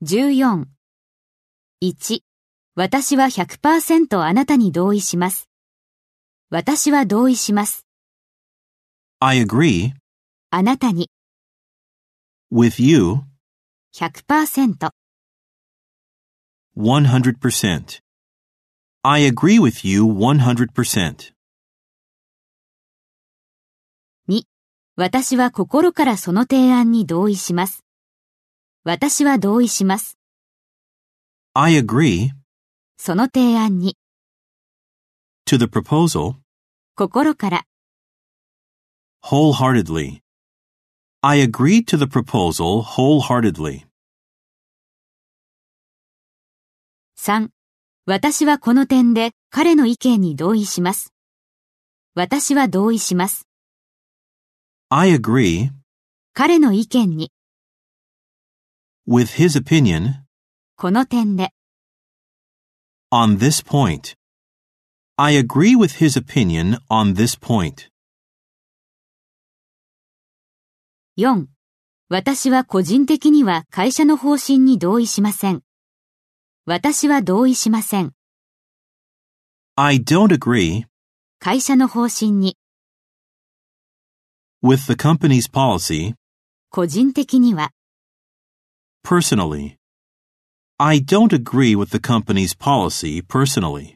14。1、私は 100% あなたに同意します。私は同意します。 I agree あなたに with you 100%。 100%. I agree with you 100%. 2、私は心からその提案に同意します。私は同意します。 I agree その提案に to the proposal 心から wholeheartedly. I agree to the proposal wholeheartedly. 3、私はこの点で彼の意見に同意します。私は同意します。 I agree 彼の意見に with his opinion この点で on this point. I agree with his opinion on this point. 4、私は個人的には会社の方針に同意しません。私は同意しません。 I don't agree 会社の方針に with the company's policy 個人的には personally. I don't agree with the company's policy personally.